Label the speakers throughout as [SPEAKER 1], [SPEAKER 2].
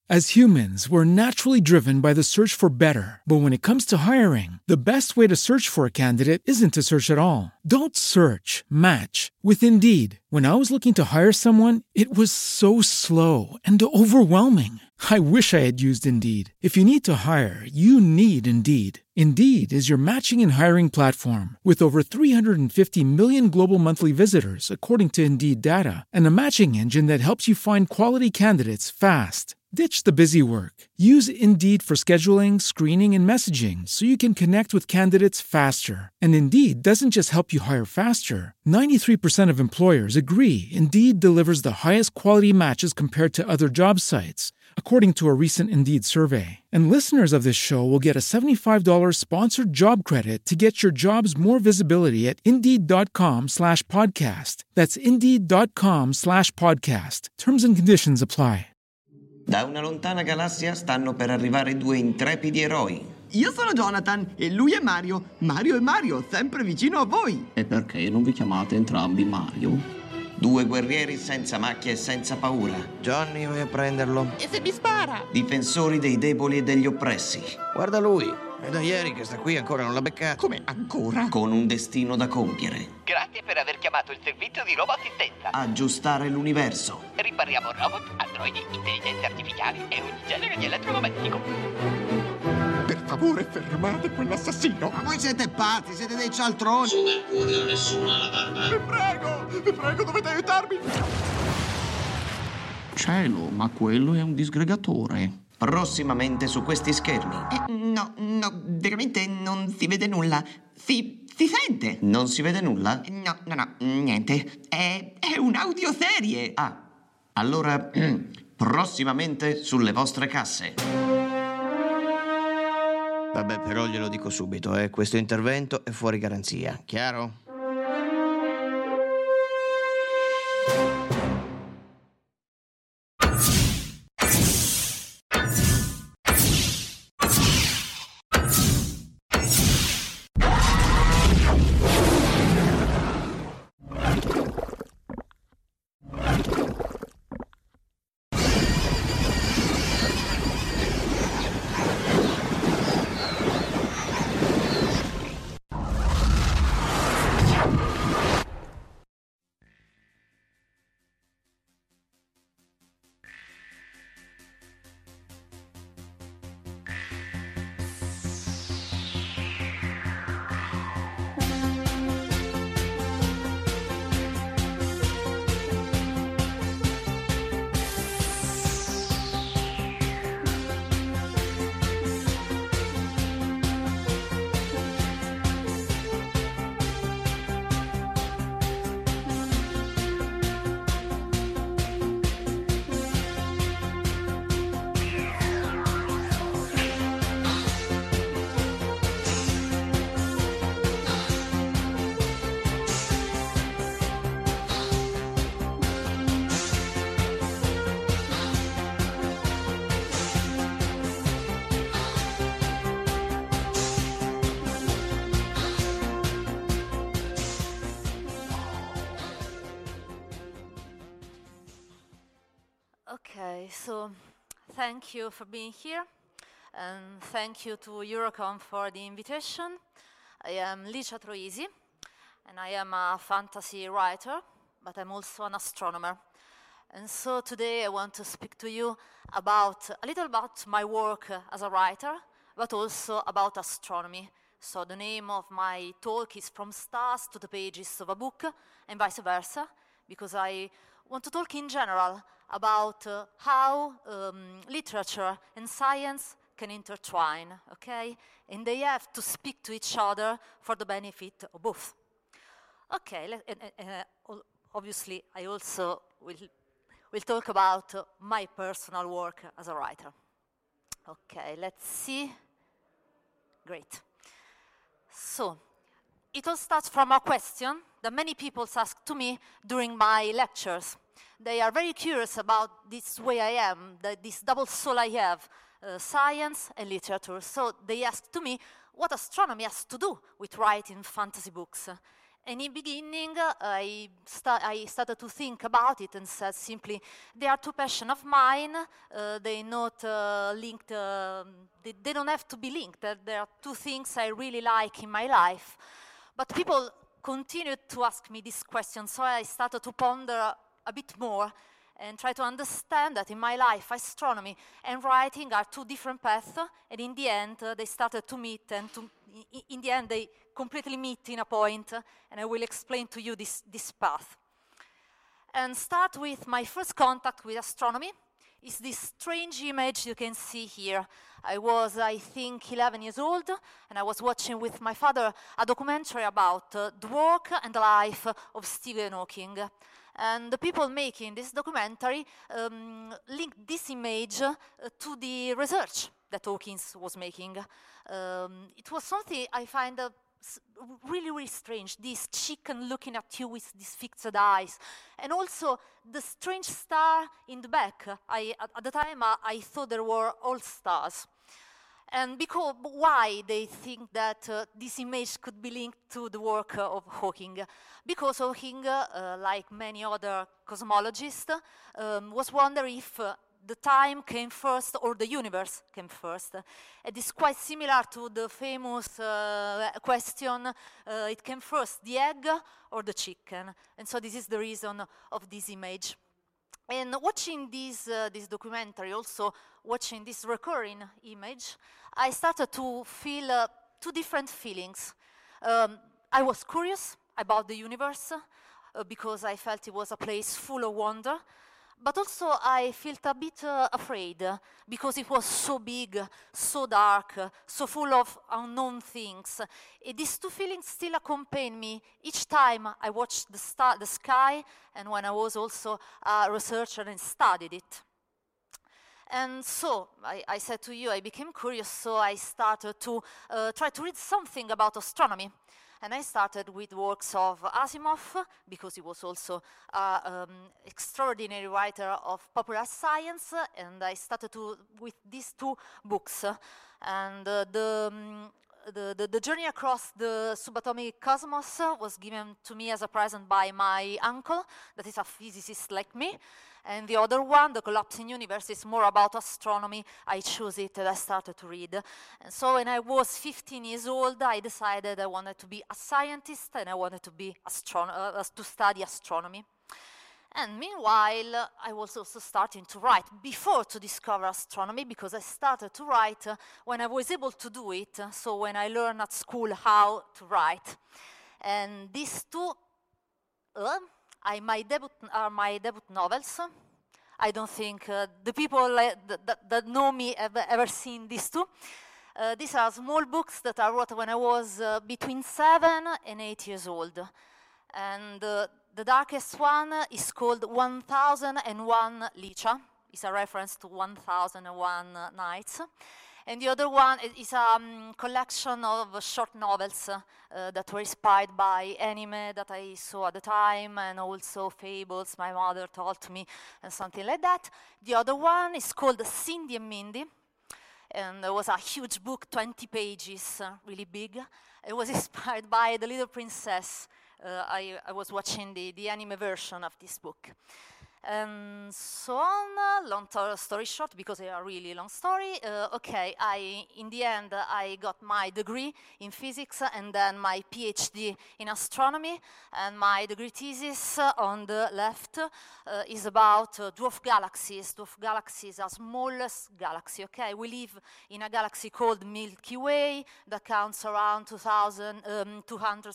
[SPEAKER 1] As humans, we're naturally driven by the search for better. But when it comes to hiring, the best way to search for a candidate isn't to search at all. Don't search, match with Indeed. When I was looking to hire someone, it was so slow and overwhelming. I wish I had used Indeed. If you need to hire, you need Indeed. Indeed is your matching and hiring platform with over 350 million global monthly visitors, according to Indeed data, and a matching engine that helps you find quality candidates fast. Ditch the busy work. Use Indeed for scheduling, screening, and messaging so you can connect with candidates faster. And Indeed doesn't just help you hire faster. 93% of employers agree Indeed delivers the highest quality matches compared to other job sites, according to a recent Indeed survey. And listeners of this show will get a $75 sponsored job credit to get your jobs more visibility at Indeed.com/podcast. That's Indeed.com/podcast. Terms and conditions apply.
[SPEAKER 2] Da una lontana galassia stanno per arrivare due intrepidi eroi.
[SPEAKER 3] Io sono Jonathan e lui è Mario. Mario è Mario, sempre vicino a voi.
[SPEAKER 4] E perché non vi chiamate entrambi Mario?
[SPEAKER 2] Due guerrieri senza macchie e senza paura.
[SPEAKER 5] Johnny, vai a prenderlo.
[SPEAKER 3] E se mi spara?
[SPEAKER 2] Difensori dei deboli e degli oppressi.
[SPEAKER 5] Guarda lui, è da ieri che sta qui, ancora non l'ha beccato.
[SPEAKER 3] Come ancora?
[SPEAKER 2] Con un destino da compiere.
[SPEAKER 6] Grazie per aver chiamato il servizio di roboassistenza.
[SPEAKER 2] Aggiustare l'universo.
[SPEAKER 6] Ripariamo robot, androidi, intelligenze artificiali e ogni genere di elettrodomestico.
[SPEAKER 3] Per favore, fermate quell'assassino.
[SPEAKER 7] Ma voi siete pazzi, siete dei cialtroni.
[SPEAKER 8] Su Mercurio nessuno ha la barba.
[SPEAKER 3] Vi prego, dovete aiutarmi.
[SPEAKER 4] Cielo, ma quello è un disgregatore.
[SPEAKER 2] Prossimamente su questi schermi.
[SPEAKER 3] No, veramente non si vede nulla. Si sente.
[SPEAKER 2] Non si vede nulla?
[SPEAKER 3] No, niente. È un'audioserie.
[SPEAKER 2] Ah, allora prossimamente sulle vostre casse.
[SPEAKER 5] Vabbè, però glielo dico subito, questo intervento è fuori garanzia, chiaro?
[SPEAKER 9] Okay, so thank you for being here, and thank you to Eurocom for the invitation. I am Licia Troisi, and I am a fantasy writer, but I'm also an astronomer. And so today I want to speak to you about a little about my work as a writer, but also about astronomy. So the name of my talk is From Stars to the Pages of a Book, and vice versa, because I want to talk in general about how literature and science can intertwine, okay? And they have to speak to each other for the benefit of both. Okay, obviously I also will talk about my personal work as a writer. Okay, let's see. Great. So, it all starts from a question that many people ask to me during my lectures. They are very curious about this way I am, this double soul I have, science and literature. So they ask to me what astronomy has to do with writing fantasy books. in the beginning, I started to think about it and said simply, they are two passions of mine. They not linked. They don't have to be linked. There are two things I really like in my life. But people continued to ask me this question, so I started to ponder a bit more and try to understand that in my life, astronomy and writing are two different paths, and in the end, they started to meet, and in the end, they completely meet in a point, and I will explain to you this path. And start with my first contact with astronomy is this strange image you can see here. I was, I think, 11 years old, and I was watching with my father a documentary about the work and the life of Stephen Hawking. And the people making this documentary linked this image to the research that Hawking was making. It was something I find really, really strange, this chicken looking at you with these fixed eyes. And also the strange star in the back. At the time, I thought there were all stars. And because why they think that this image could be linked to the work of Hawking? Because Hawking, like many other cosmologists, was wondering if the time came first or the universe came first. It is quite similar to the famous question, it came first, the egg or the chicken? And so this is the reason of this image. And watching this documentary, also watching this recurring image, I started to feel two different feelings. I was curious about the universe because I felt it was a place full of wonder, but also I felt a bit afraid because it was so big, so dark, so full of unknown things. These two feelings still accompany me each time I watched the sky and when I was also a researcher and studied it. And so I said to you, I became curious, so I started to try to read something about astronomy. And I started with works of Asimov, because he was also an extraordinary writer of popular science, and I started with these two books. And the journey across the subatomic cosmos was given to me as a present by my uncle, that is a physicist like me. And the other one, The Collapsing Universe, is more about astronomy. I chose it and I started to read. And so when I was 15 years old, I decided I wanted to be a scientist and I wanted to be to study astronomy. And meanwhile, I was also starting to write before to discover astronomy, because I started to write when I was able to do it, so when I learned at school how to write. And these two are my debut novels. I don't think the people that know me have ever seen these two. These are small books that I wrote when I was between 7 and 8 years old. And the darkest one is called 1001 Licia. It's a reference to 1001 Nights. And the other one is a collection of short novels that were inspired by anime that I saw at the time, and also fables my mother told me, and something like that. The other one is called Cindy and Mindy. And it was a huge book, 20 pages, really big. It was inspired by The Little Princess. I was watching the anime version of this book. And so on, long story short, because they are really long story, in the end, I got my degree in physics and then my PhD in astronomy, and my degree thesis on the left is about dwarf galaxies. Dwarf galaxies are smallest galaxy, okay? We live in a galaxy called Milky Way that counts around 200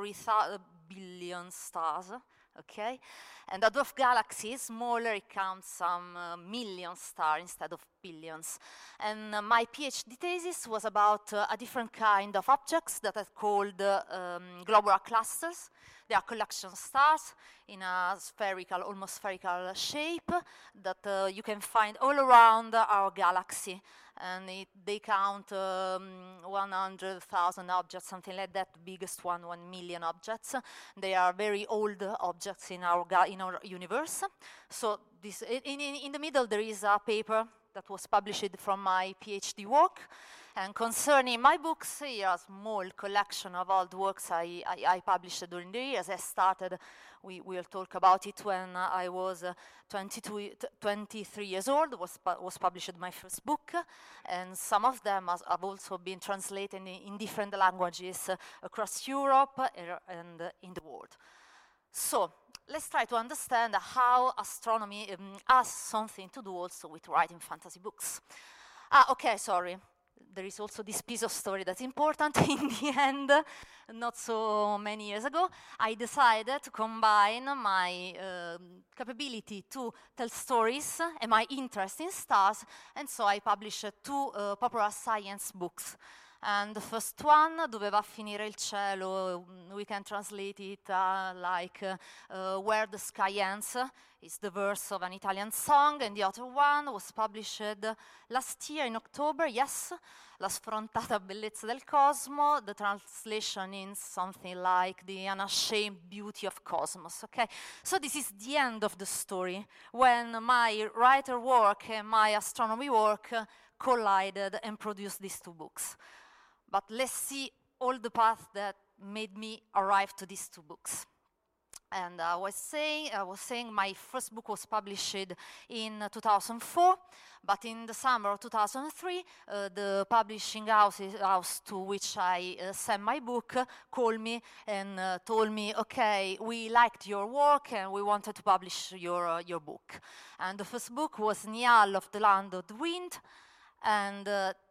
[SPEAKER 9] billion stars, okay? And a dwarf galaxy is smaller, it counts some million stars instead of billions. And my PhD thesis was about a different kind of objects that are called globular clusters. They are collection stars in a spherical, almost spherical shape that you can find all around our galaxy. And they count 100,000 objects, something like that. The biggest one, 1 million objects. They are very old objects in our universe. So this, in the middle there is a paper that was published from my PhD work. And concerning my books, here a small collection of all the works I published during the years. I started, we will talk about it, when I was 23 years old, was published my first book, and some of them have also been translated in different languages across Europe and in the world. So, let's try to understand how astronomy has something to do also with writing fantasy books. Okay, sorry. There is also this piece of story that's important. In the end, not so many years ago, I decided to combine my capability to tell stories and my interest in stars, and so I published two popular science books. And the first one, Doveva finire il cielo, we can translate it like Where the Sky Ends, is the verse of an Italian song, and the other one was published last year in October, yes, La sfrontata bellezza del cosmo, the translation in something like The Unashamed Beauty of Cosmos, okay? So this is the end of the story, when my writer work and my astronomy work collided and produced these two books. But let's see all the path that made me arrive to these two books. And I was saying my first book was published in 2004, but in the summer of 2003, the publishing house to which I sent my book called me and told me, okay, we liked your work and we wanted to publish your book. And the first book was Niall of the Land of the Wind, and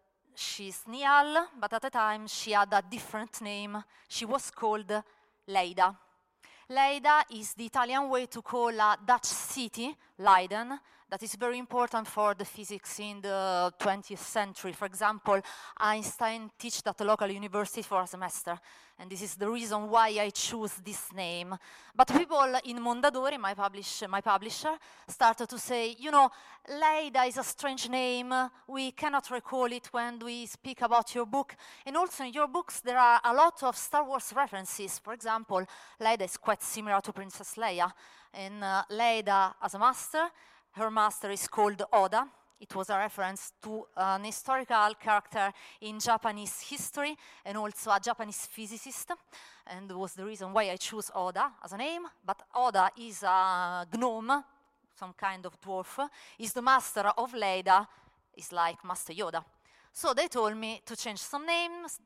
[SPEAKER 9] she's Niall, but at the time she had a different name. She was called Leida. Leida is the Italian way to call a Dutch city, Leiden, that is very important for the physics in the 20th century. For example, Einstein taught at a local university for a semester, and this is the reason why I choose this name. But people in Mondadori, my publisher, started to say, you know, Leida is a strange name, we cannot recall it when we speak about your book, and also in your books there are a lot of Star Wars references. For example, Leida is quite similar to Princess Leia, and Leida as a master, her master is called Oda. It was a reference to an historical character in Japanese history and also a Japanese physicist, and was the reason why I chose Oda as a name. But Oda is a gnome, some kind of dwarf, is the master of Leida, is like Master Yoda. So they told me to change some names.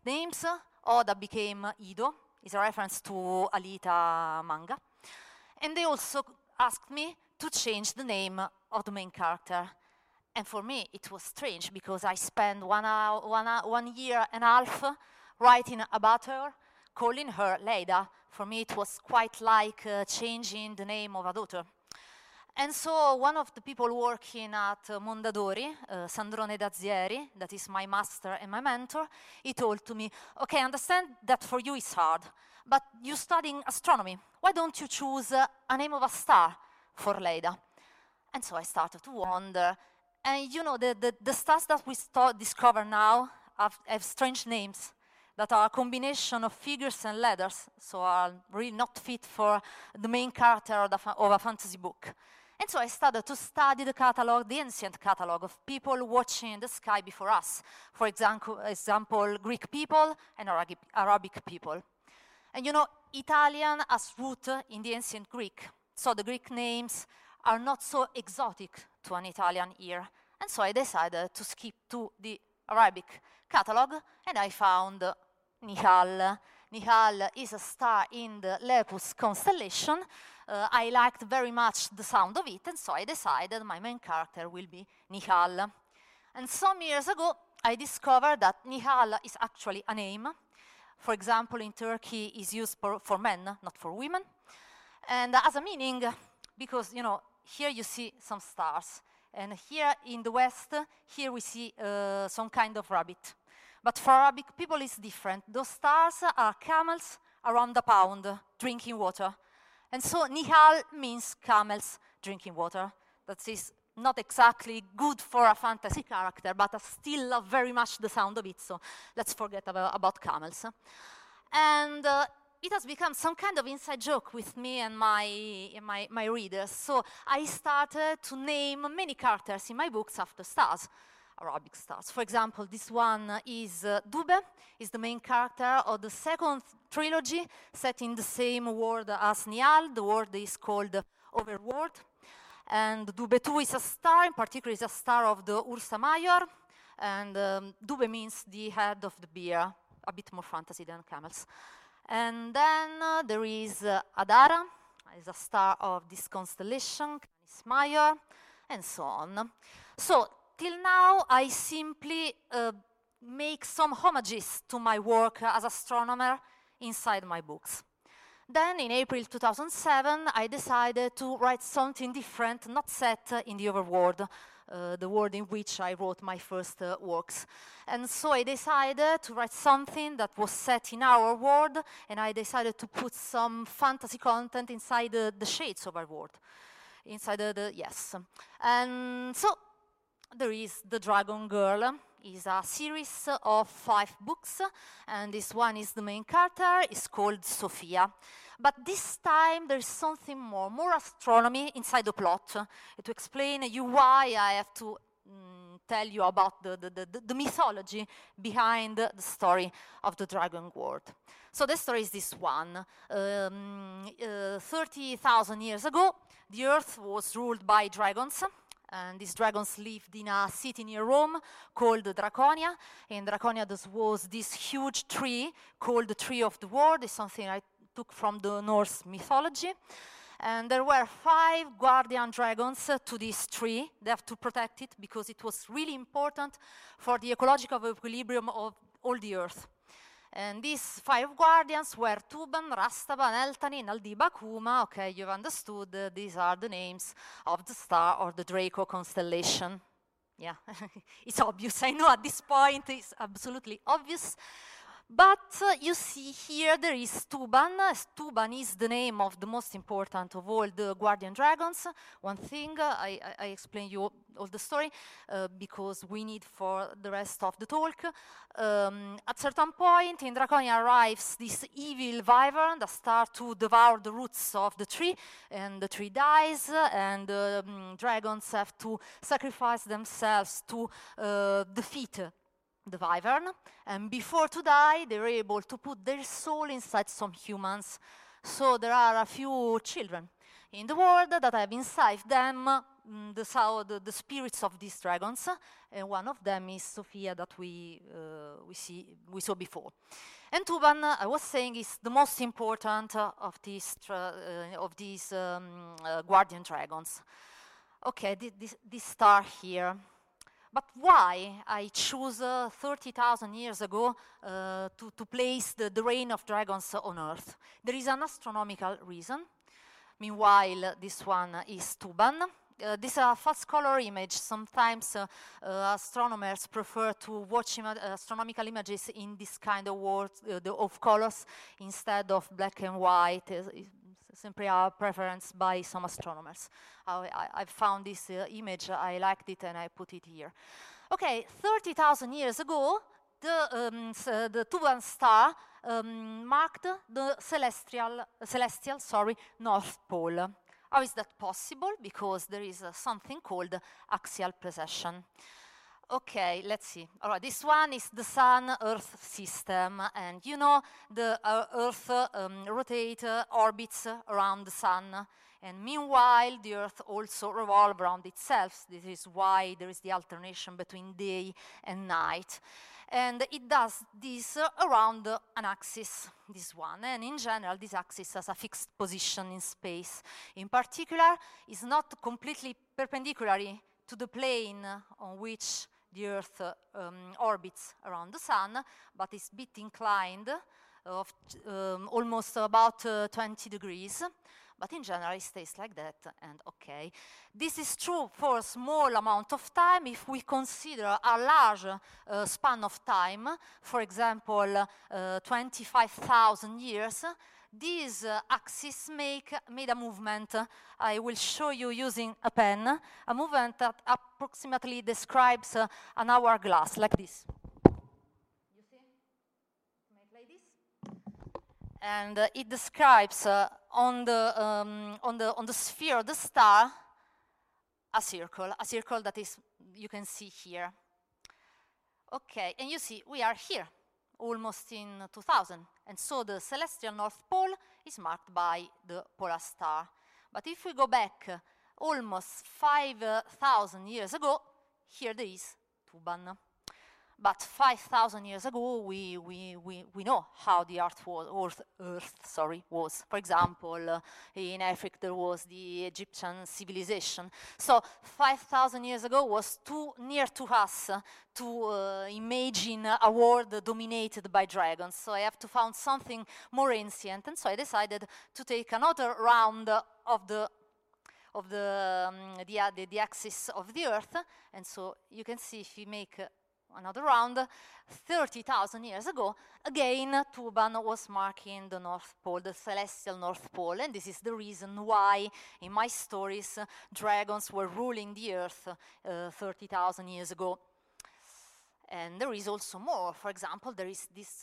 [SPEAKER 9] Oda became Ido, is a reference to Alita manga. And they also asked me to change the name of the main character. And for me, it was strange, because I spent 1 year and a half writing about her, calling her Leida. For me, it was quite like changing the name of a daughter. And so one of the people working at Mondadori, Sandrone Dazieri, that is my master and my mentor, he told to me, okay, I understand that for you it's hard, but you're studying astronomy. Why don't you choose a name of a star for Leida? And so I started to wonder. And you know, the stars that we discover now have strange names that are a combination of figures and letters, so are really not fit for the main character of a fantasy book. And so I started to study the catalog, the ancient catalog of people watching the sky before us. For example, Greek people and Arabic people. And you know, Italian has root in the ancient Greek, so the Greek names are not so exotic to an Italian ear. And so I decided to skip to the Arabic catalog, and I found Nihal. Nihal is a star in the Lepus constellation. I liked very much the sound of it, and so I decided my main character will be Nihal. And some years ago, I discovered that Nihal is actually a name. For example, in Turkey, is used for men, not for women. And as a meaning, because, you know, here you see some stars. And here in the West, here we see some kind of rabbit. But for Arabic people, it's different. Those stars are camels around a pound drinking water. And so Nihal means camels drinking water. That is not exactly good for a fantasy character, but I still love very much the sound of it, so let's forget about camels. And it has become some kind of inside joke with me and my readers. So I started to name many characters in my books after stars, Arabic stars. For example, this one is Dube, is the main character of the second trilogy, set in the same world as Nial. The world is called Overworld. And Dube 2 is a star, in particular is a star of the Ursa Major. And Dube means the head of the bear, a bit more fantasy than camels. And then there is Adara, is a star of this constellation, Canis Major, and so on. So, till now, I simply make some homages to my work as astronomer inside my books. Then, in April 2007, I decided to write something different, not set in the overworld, the world in which I wrote my first works. And so I decided to write something that was set in our world, and I decided to put some fantasy content inside the shades of our world. Inside yes. And so there is The Dragon Girl. It's a series of 5 books, and this one is the main character. It's called Sophia. But this time there is something more astronomy inside the plot, to explain you why I have to tell you about the mythology behind the story of the Dragon World. So the story is this one. 30,000 years ago, the Earth was ruled by dragons. And these dragons lived in a city near Rome called Draconia. In Draconia, there was this huge tree called the Tree of the World. It's something I took from the Norse mythology. And there were 5 guardian dragons to this tree. They have to protect it because it was really important for the ecological equilibrium of all the Earth. And these 5 guardians were Tuban, Rastaban, Eltani, Naldiba, Kuma. Okay, you've understood. These are the names of the star or the Draco constellation. Yeah, it's obvious. I know at this point it's absolutely obvious. But you see here there is Tuban. Tuban is the name of the most important of all the guardian dragons. One thing, I explain you all the story because we need for the rest of the talk. At certain point in Draconia arrives this evil wyvern that starts to devour the roots of the tree, and the tree dies, and dragons have to sacrifice themselves to defeat the wyvern, and before to die, they're able to put their soul inside some humans. So there are a few children in the world that have inside them the spirits of these dragons, and one of them is Sophia that we saw before. And Tuban, I was saying, is the most important of these guardian dragons. Okay, this star here. But why I choose 30,000 years ago to place the reign of dragons on Earth? There is an astronomical reason. Meanwhile, this one is Tuban. This is a false color image. Sometimes astronomers prefer to watch astronomical images in this kind of world of colors instead of black and white. Simply a preference by some astronomers. I found this image, I liked it, and I put it here. Okay, 30,000 years ago, the Tuban star marked the celestial North Pole. How is that possible? Because there is something called axial precession. Okay, let's see. All right, this one is the Sun-Earth system, and you know the Earth orbits around the Sun, and meanwhile the Earth also revolves around itself. This is why there is the alternation between day and night. And it does this around an axis, this one. And in general, this axis has a fixed position in space. In particular, it's not completely perpendicular to the plane on which the Earth orbits around the Sun, but is a bit inclined, of almost about 20 degrees. But in general, it stays like that, and okay. This is true for a small amount of time. If we consider a large span of time, for example, 25,000 years, these axes made a movement. I will show you using a pen, a movement that approximately describes an hourglass, like this. You see? Make like this. And it describes on the sphere of the star a circle that is, you can see here. Okay, and you see we are here, almost in 2000, and so the celestial North Pole is marked by the polar star. But if we go back almost 5,000 years ago, here there is Tuban. But 5,000 years ago, we know how the Earth was. For example, in Africa there was the Egyptian civilization. So 5,000 years ago was too near to us to imagine a world dominated by dragons. So I have to find something more ancient, and so I decided to take another round of the axis of the Earth. And so you can see if we make another round, 30,000 years ago, again, Tuban was marking the North Pole, the celestial North Pole, and this is the reason why, in my stories, dragons were ruling the Earth 30,000 years ago. And there is also more. For example, there is this,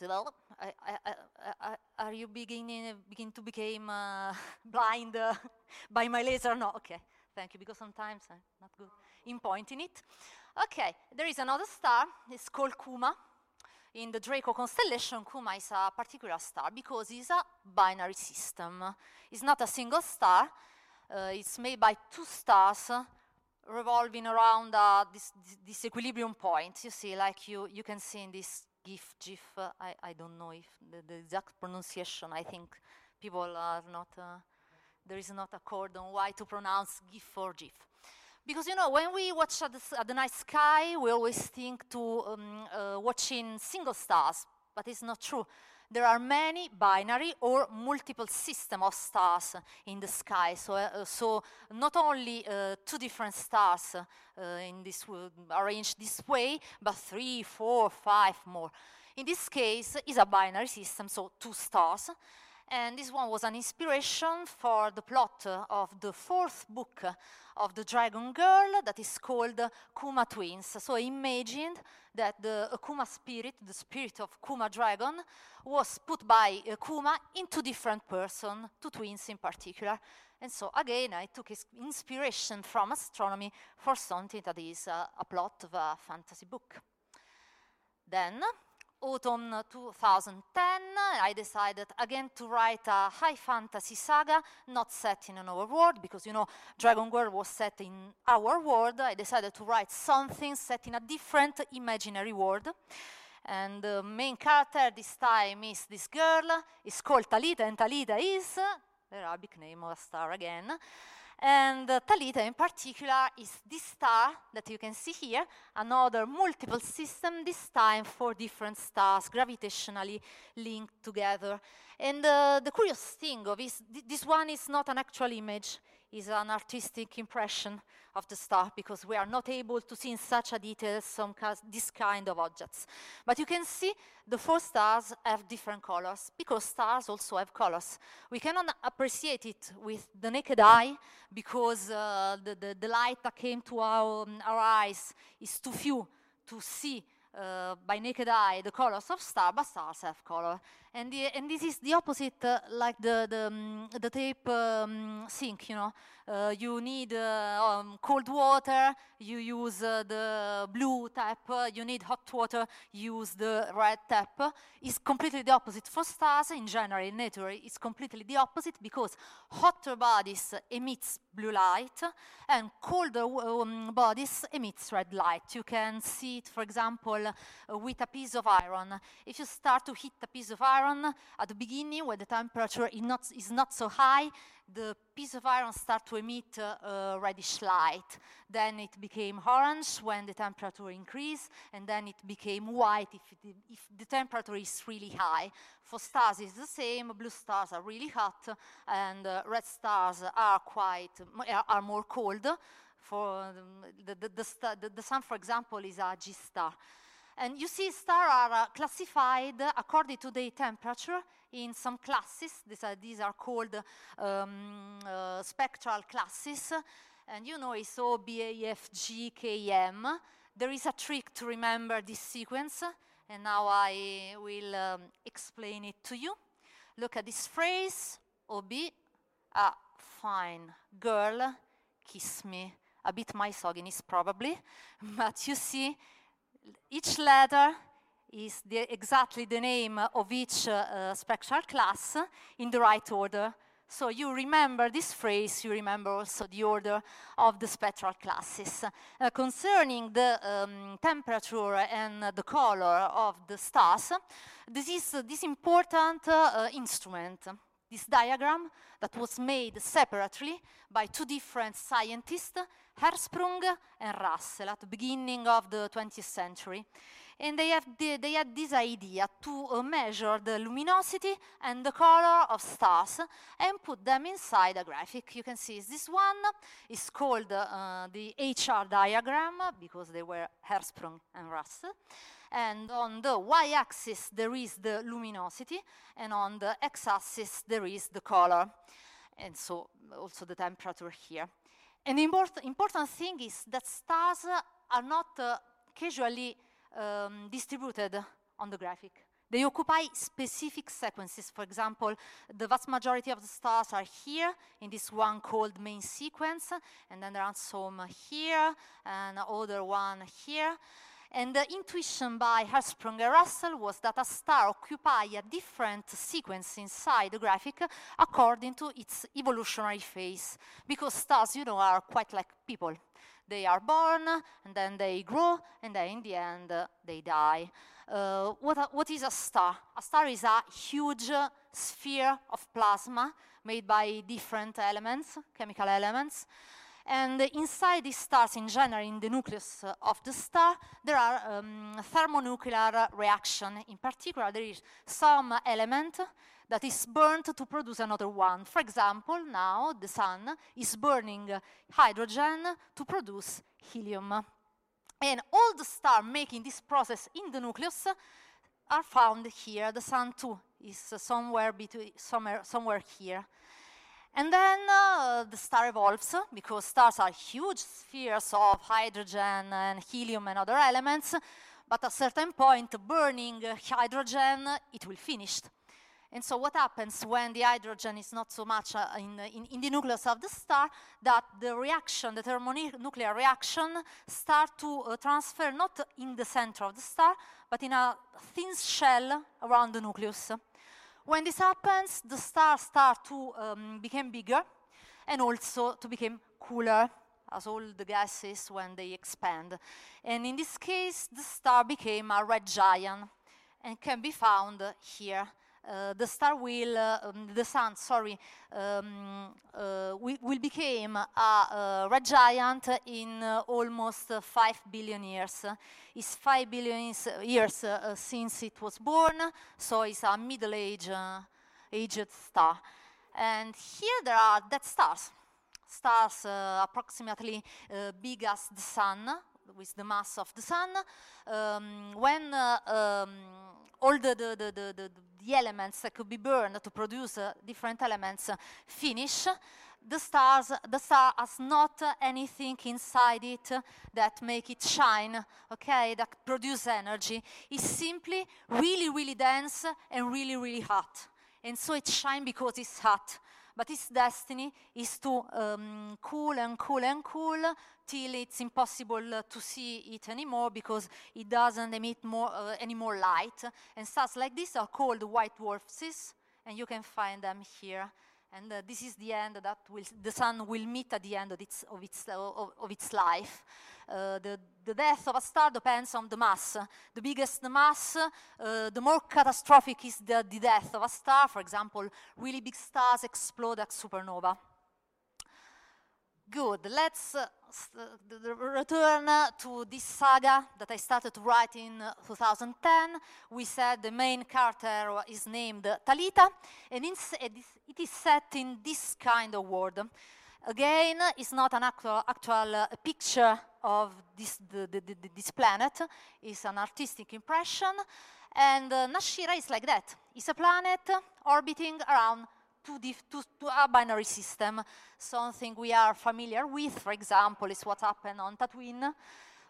[SPEAKER 9] are you begin to become blind by my laser? No, okay, thank you, because sometimes I'm not good in pointing it. Okay, there is another star, it's called Kuma. In the Draco constellation, Kuma is a particular star because it's a binary system. It's not a single star, it's made by two stars revolving around this equilibrium point. You see, like you can see in this GIF, I don't know if the exact pronunciation, I think people are not, there is not a code on why to pronounce GIF or GIF. Because, you know, when we watch at the night sky, we always think to watching single stars, but it's not true. There are many binary or multiple system of stars in the sky. So not only two different stars in this arranged this way, but 3, 4, 5 more. In this case, it's a binary system, so two stars. And this one was an inspiration for the plot of the 4th book of the Dragon Girl that is called Kuma Twins. So I imagined that the Kuma spirit, the spirit of Kuma Dragon, was put by Kuma into different persons, two twins in particular. And so again, I took inspiration from astronomy for something that is a plot of a fantasy book. Then, autumn 2010, I decided again to write a high fantasy saga, not set in our world, because, you know, Dragon Girl was set in our world. I decided to write something set in a different imaginary world. And the main character this time is this girl. It's called Talita, and Talita is the Arabic name of a star again. And Talita in particular is this star that you can see here, another multiple system, this time 4 different stars gravitationally linked together. And the curious thing of this one is not an actual image, it's an artistic impression of the star, because we are not able to see in such a detail this kind of objects. But you can see the 4 stars have different colors, because stars also have colors. We cannot appreciate it with the naked eye, because the light that came to our eyes is too few to see by naked eye the colors of stars, but stars have color. And this is the opposite, like the tape sink, you know. You need cold water, you use the blue tap. You need hot water, use the red tap. It's completely the opposite. For stars, in general, in nature, it's completely the opposite, because hotter bodies emits blue light, and colder bodies emits red light. You can see it, for example, with a piece of iron. If you start to heat a piece of iron at the beginning, when the temperature is not so high, the piece of iron starts to emit reddish light. Then it became orange when the temperature increased, and then it became white if the temperature is really high. For stars, it's the same. Blue stars are really hot, and red stars are more cold. For the sun, for example, is a G star. And you see, stars are classified according to their temperature in some classes. These are called spectral classes. And you know, it's O, B, A, F, G, K, M. There is a trick to remember this sequence, and now I will explain it to you. Look at this phrase, OB, a fine girl, kiss me. A bit misogynist probably, but you see, each letter is exactly the name of each spectral class in the right order. So you remember this phrase, you remember also the order of the spectral classes. Concerning the temperature and the color of the stars, this is this important instrument, this diagram that was made separately by two different scientists, Hertzsprung and Russell, at the beginning of the 20th century. And they had this idea to measure the luminosity and the color of stars and put them inside a graphic. You can see this one is called the HR diagram because they were Hertzsprung and Russell. And on the y-axis there is the luminosity, and on the x-axis there is the color, and so also the temperature here. And the important thing is that stars are not casually distributed on the graphic. They occupy specific sequences. For example, the vast majority of the stars are here in this one called main sequence, and then there are some here and other one here. And the intuition by Hertzsprung and Russell was that a star occupies a different sequence inside the graphic according to its evolutionary phase, because stars, you know, are quite like people. They are born, and then they grow, and then in the end, they die. What is a star? A star is a huge sphere of plasma made by different elements, chemical elements. And inside these stars, in general, in the nucleus of the star, there are thermonuclear reaction. In particular, there is some element that is burned to produce another one. For example, now the sun is burning hydrogen to produce helium. And all the stars making this process in the nucleus are found here. The sun too is somewhere here. And then the star evolves, because stars are huge spheres of hydrogen and helium and other elements, but at a certain point, burning hydrogen, it will finish. And so what happens when the hydrogen is not so much in the nucleus of the star, that the reaction, the thermonuclear reaction, start to transfer not in the center of the star, but in a thin shell around the nucleus. When this happens, the stars start to become bigger and also to become cooler, as all the gases when they expand. And in this case, the star became a red giant and can be found here. The sun, will become a red giant in almost 5 billion years. It's 5 billion years since it was born, so it's a middle-aged star. And here there are dead stars. Stars approximately big as the sun, with the mass of the sun. When all the elements that could be burned to produce different elements finish, the star has not anything inside it that make it shine, okay, that produce energy. It's simply really, really dense and really, really hot. And so it shines because it's hot. But its destiny is to cool and cool and cool till it's impossible to see it anymore, because it doesn't emit any more light. And stars like this are called white dwarfs, and you can find them here. And this is the end that the sun will meet at the end of its life. The death of a star depends on the mass. The biggest the mass, the more catastrophic is the death of a star. For example, really big stars explode as supernova. Good, let's return to this saga that I started to write in 2010. We said the main character is named Talita, and it is set in this kind of world. Again, it's not an actual picture of this planet. It's an artistic impression. And Nashira is like that. It's a planet orbiting around to a binary system, something we are familiar with. For example, is what happened on Tatooine.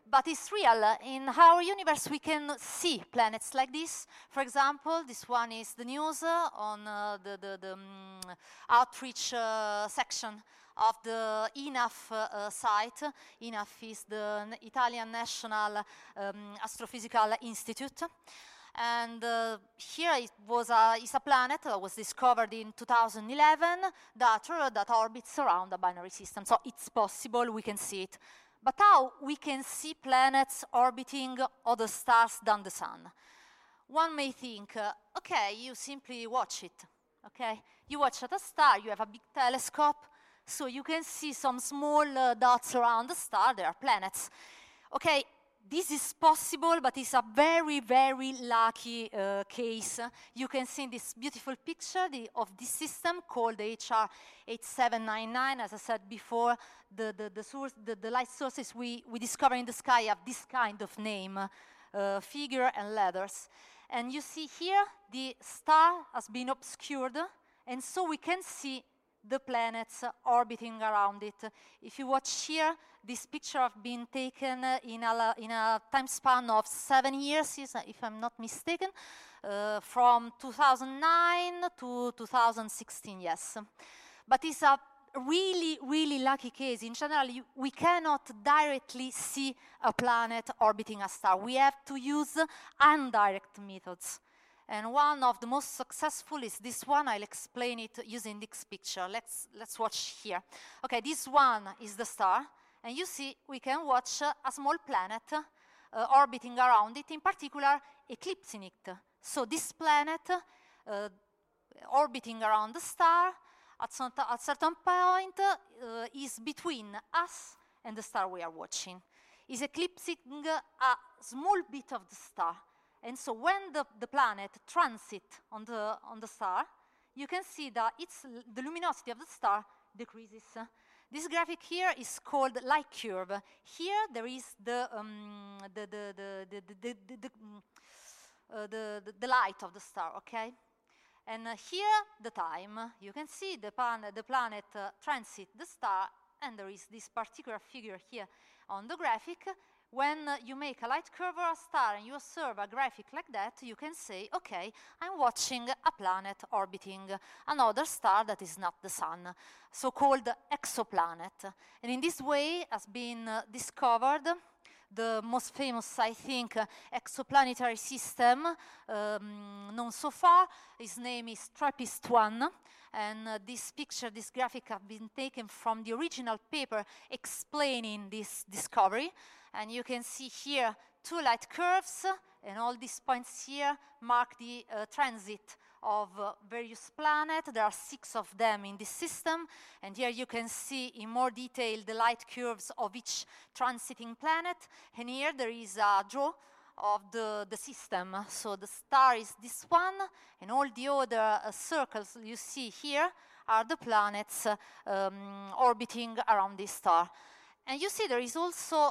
[SPEAKER 9] but it's real. In our universe, we can see planets like this. For example, this one is the news on the outreach section of the INAF site. INAF is the Italian National Astrophysical Institute. And here is a planet that was discovered in 2011 that orbits around a binary system. So it's possible, we can see it. But how we can see planets orbiting other stars than the Sun? One may think, okay, you simply watch it, okay? You watch at a star, you have a big telescope, so you can see some small dots around the star, they are planets. Okay, this is possible, but it's a very, very lucky case. You can see this beautiful picture of this system called HR 8799. As I said before, the light sources we discover in the sky have this kind of name, figure and letters. And you see here, the star has been obscured, and so we can see the planets orbiting around it. If you watch here, this picture has been taken in a time span of 7 years, if I'm not mistaken, from 2009 to 2016, yes. But it's a really, really lucky case. In general, we cannot directly see a planet orbiting a star. We have to use indirect methods. And one of the most successful is this one. I'll explain it using this picture. Let's watch here. Okay, this one is the star. And you see, we can watch a small planet orbiting around it, in particular, eclipsing it. So this planet orbiting around the star, at certain point, is between us and the star we are watching. Is eclipsing a small bit of the star. And so when the planet transits on the star, you can see that the luminosity of the star decreases. This graphic here is called light curve. Here there is the light of the star, okay? And here the time. You can see the planet transit the star, and there is this particular figure here on the graphic. When you make a light curve or a star and you observe a graphic like that, you can say, okay, I'm watching a planet orbiting another star that is not the Sun, so-called exoplanet. And in this way has been discovered the most famous, I think, exoplanetary system known so far. His name is TRAPPIST-1. And this picture, this graphic, have been taken from the original paper explaining this discovery. And you can see here 2 light curves, and all these points here mark the transit of various planets. There are 6 of them in this system, and here you can see in more detail the light curves of each transiting planet. And here there is a draw of the system. So the star is this one, and all the other circles you see here are the planets orbiting around this star. And you see there is also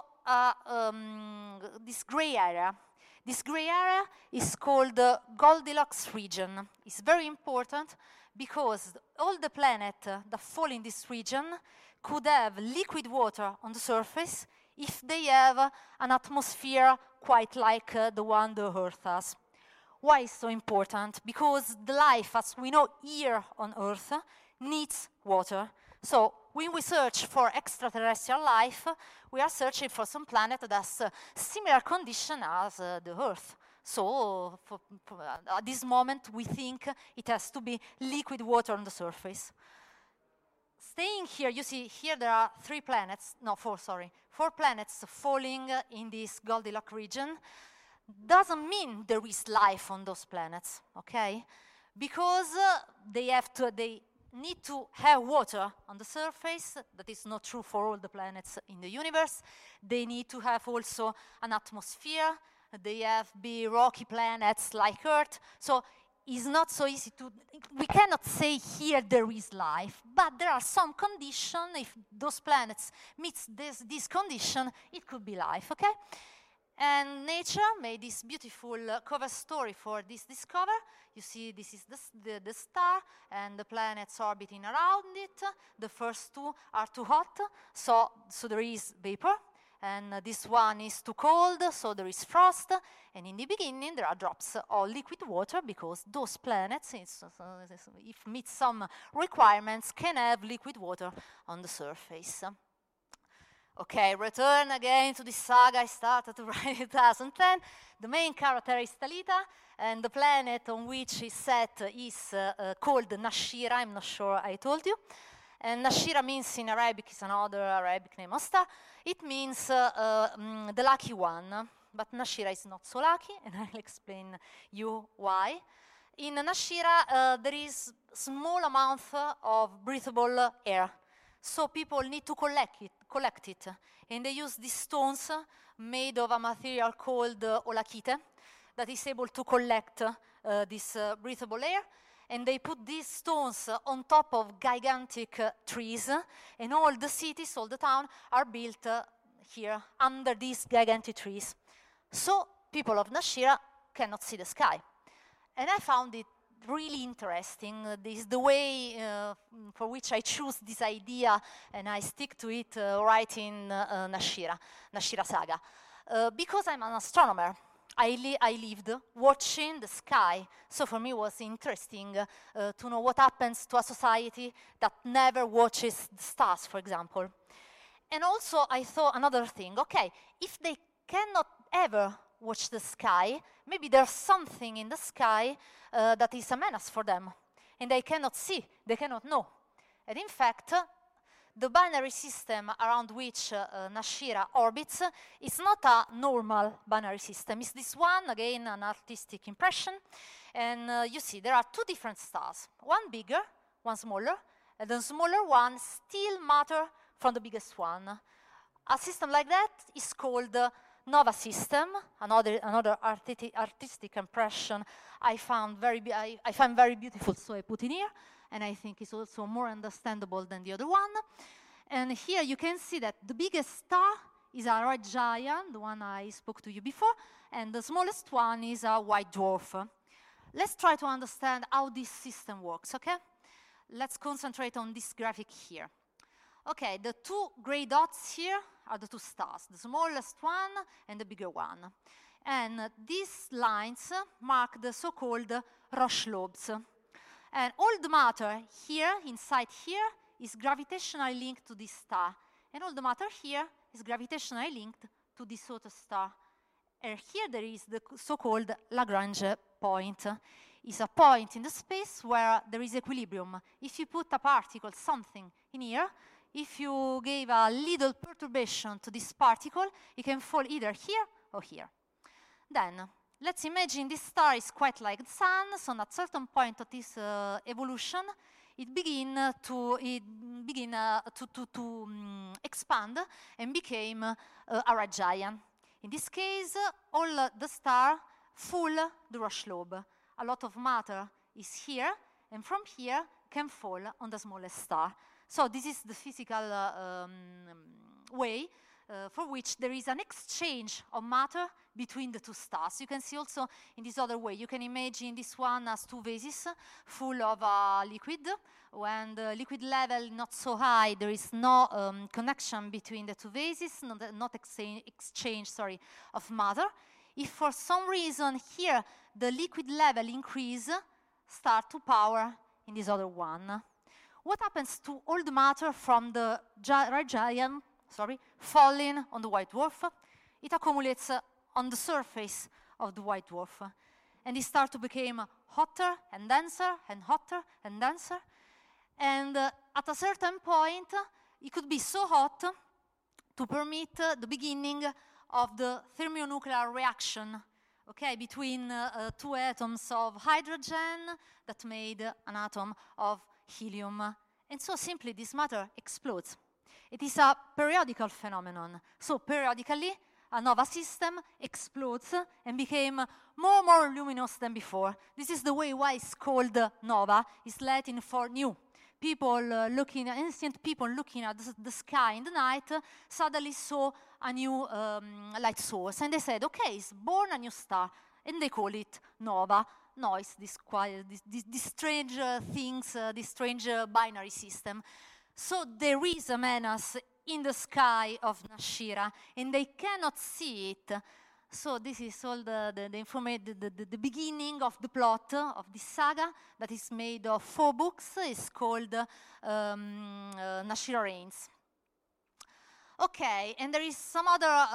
[SPEAKER 9] this gray area. This gray area is called the Goldilocks region. It's very important because all the planets that fall in this region could have liquid water on the surface if they have an atmosphere quite like the one the Earth has. Why is so important? Because the life, as we know here on Earth, needs water. So when we search for extraterrestrial life, we are searching for some planet that has a similar condition as the Earth. So at this moment, we think it has to be liquid water on the surface. Staying here, you see here there are 4 planets falling in this Goldilocks region. Doesn't mean there is life on those planets, okay? Because they need to have water on the surface. That is not true for all the planets in the universe. They need to have also an atmosphere. They have be rocky planets like Earth. So it's not so easy we cannot say here there is life, but there are some conditions. If those planets meet this condition, it could be life, okay? And nature made this beautiful cover story for this discovery. You see, this is the star and the planets orbiting around it. The first 2 are too hot, so there is vapor. and this one is too cold, so there is frost, and in the beginning there are drops of liquid water because those planets, if meet some requirements, can have liquid water on the surface. Okay, return again to this saga I started to write in 2010. The main character is Talita, and the planet on which is set is called Nashira. I'm not sure I told you. And Nashira means in Arabic, is another Arabic name of star. It means the lucky one, but Nashira is not so lucky, and I'll explain you why. In Nashira, there is small amount of breathable air, so people need to collect it, and they use these stones made of a material called olakite that is able to collect this breathable air. And they put these stones on top of gigantic trees, and all the cities, all the town, are built here under these gigantic trees. So people of Nashira cannot see the sky. And I found it really interesting. This is the way for which I choose this idea, and I stick to it right in Nashira Saga. Because I'm an astronomer, I lived watching the sky, so for me it was interesting to know what happens to a society that never watches the stars, for example. And also I thought another thing, okay, if they cannot ever watch the sky, maybe there's something in the sky that is a menace for them, and they cannot see, they cannot know. And in fact, the binary system around which Nashira orbits is not a normal binary system. It's this one, again, an artistic impression. And you see, there are two different stars, one bigger, one smaller, and the smaller one still matter from the biggest one. A system like that is called the Nova system, another artistic impression I find very beautiful, so I put in here. And I think it's also more understandable than the other one. And here you can see that the biggest star is a red giant, the one I spoke to you before, and the smallest one is a white dwarf. Let's try to understand how this system works, okay? Let's concentrate on this graphic here. Okay, the two gray dots here are the two stars, the smallest one and the bigger one. And these lines mark the so-called Roche lobes. And all the matter here, inside here, is gravitationally linked to this star. And all the matter here is gravitationally linked to this other star. And here there is the so-called Lagrange point. It's a point in the space where there is equilibrium. If you put a particle, something, in here, if you gave a little perturbation to this particle, it can fall either here or here. Then, let's imagine this star is quite like the sun, so at a certain point of this evolution, it began to expand and became a red giant. In this case, all the stars full the Roche lobe. A lot of matter is here, and from here can fall on the smallest star. So this is the physical way for which there is an exchange of matter between the two stars. You can see also in this other way, you can imagine this one as two vases full of liquid. When the liquid level not so high, there is no connection between the two vases, not exchange of matter. If for some reason here the liquid level increase, start to power in this other one. What happens to all the matter from the red giant, falling on the white dwarf? It accumulates on the surface of the white dwarf. And it starts to become hotter and denser and hotter and denser. And at a certain point, it could be so hot to permit the beginning of the thermonuclear reaction, okay, between two atoms of hydrogen that made an atom of helium. And so simply this matter explodes. It is a periodical phenomenon. So periodically, a nova system explodes and became more luminous than before. This is the way why it's called nova. It's Latin for new. Ancient people looking at the sky in the night suddenly saw a new light source. And they said, okay, it's born a new star. And they call it nova. Noise, these strange things, this strange binary system. So there is a menace in the sky of Nashira, and they cannot see it. So this is all the beginning of the plot of this saga that is made of 4 books. It's called Nashira Reigns. Okay, and there is some